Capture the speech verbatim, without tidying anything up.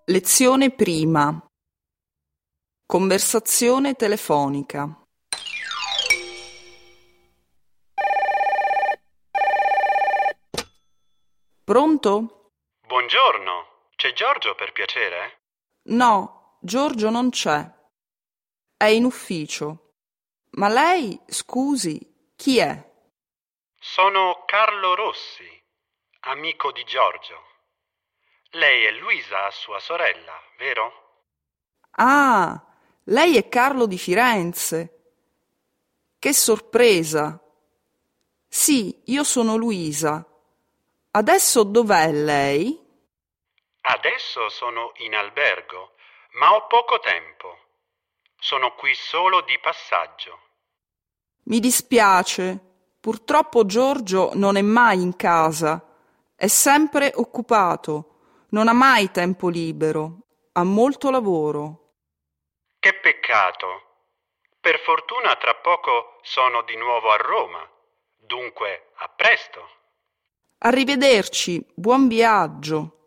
Lezione prima. Conversazione telefonica. Pronto? Buongiorno, c'è Giorgio per piacere? No, Giorgio non c'è. È in ufficio. Ma lei, scusi, chi è? Sono Carlo Rossi, amico di Giorgio. Lei è Luisa, sua sorella, vero? Ah, lei è Carlo di Firenze. Che sorpresa! Sì, io sono Luisa. Adesso dov'è lei? Adesso sono in albergo, ma ho poco tempo. Sono qui solo di passaggio. Mi dispiace, purtroppo Giorgio non è mai in casa, è sempre occupato, non ha mai tempo libero, ha molto lavoro. Che peccato. Per fortuna tra poco sono di nuovo a Roma. Dunque, a presto. Arrivederci, buon viaggio.